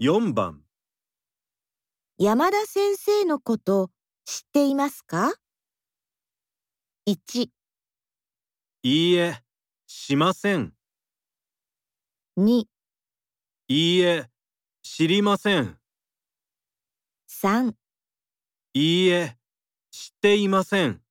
4番。 山田先生のこと知っていますか？ 1、 いいえ、しません。 2、 いいえ、知りません。 3 いいえ、知っていません。